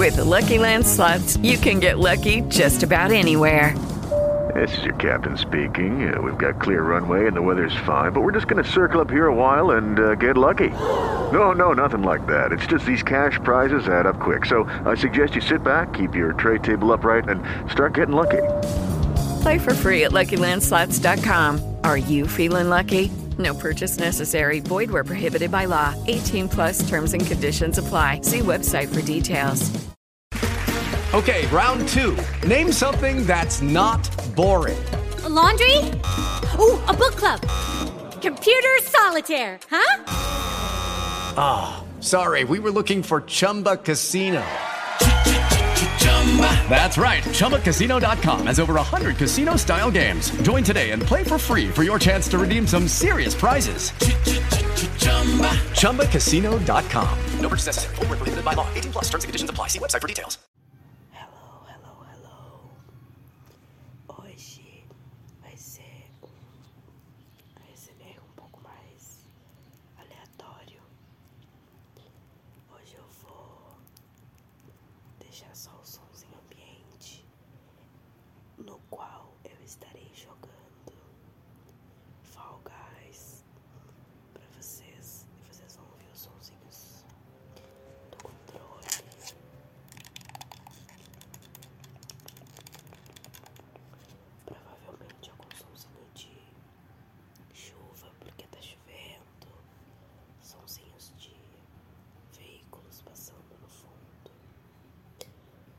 With the Lucky Land Slots, you can get lucky just about anywhere. This is your captain speaking. We've got clear runway and the weather's fine, but we're just going to circle up here a while and get lucky. No, nothing like that. It's just these cash prizes add up quick. So I suggest you sit back, keep your tray table upright, and start getting lucky. Play for free at LuckyLandSlots.com. Are you feeling lucky? No purchase necessary. Void where prohibited by law. 18 plus terms and conditions apply. See website for details. Okay, round two. Name something that's not boring. A laundry? Ooh, a book club. Computer solitaire, huh? Sorry, we were looking for Chumba Casino. That's right. ChumbaCasino.com has over 100 casino-style games. Join today and play for free for your chance to redeem some serious prizes. ChumbaCasino.com. No purchase necessary. Void where prohibited by law. 18 plus terms and conditions apply. See website for details. Hello. Hoje vai ser um ASMR um pouco mais aleatório. Hoje eu vou deixar só os sons em ambiente, no qual eu estarei jogando Fall Guys pra vocês, e vocês vão ouvir os sonzinhos do controle. Provavelmente algum sonzinho de chuva, porque tá chovendo, sonzinhos de veículos passando no fundo.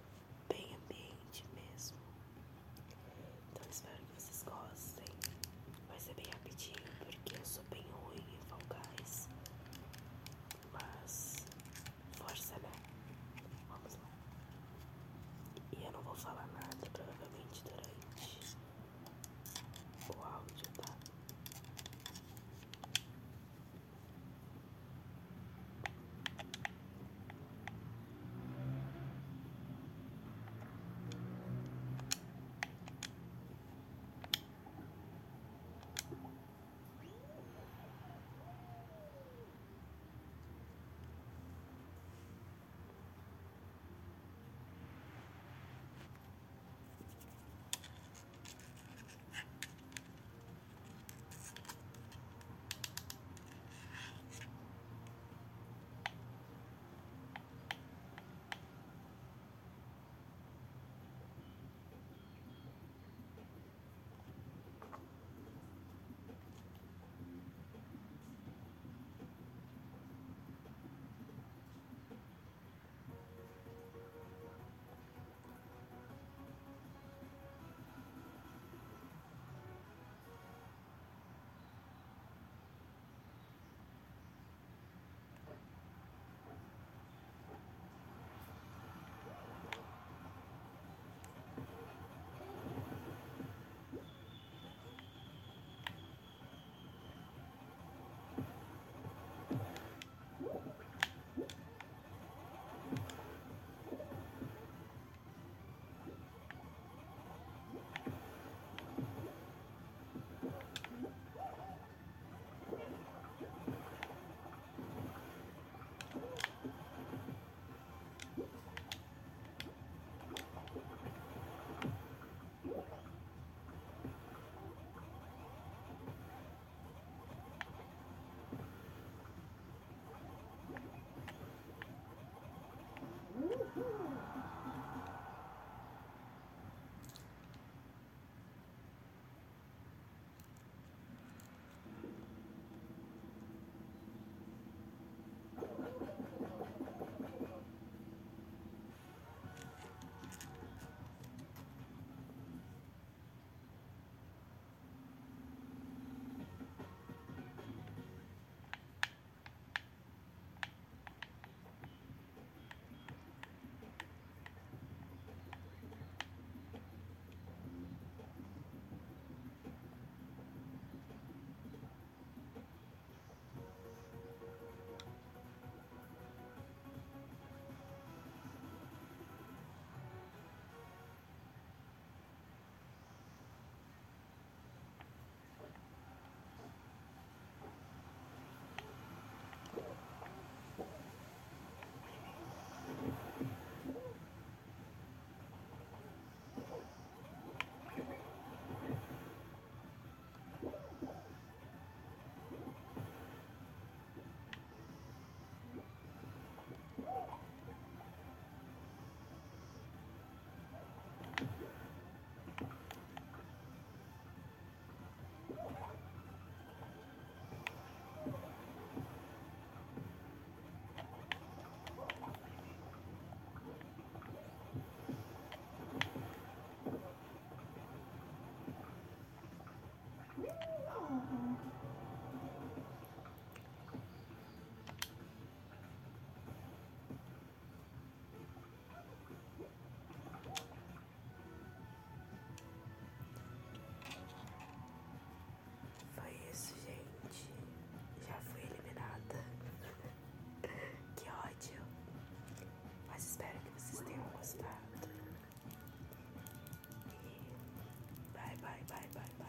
bye, bye, bye.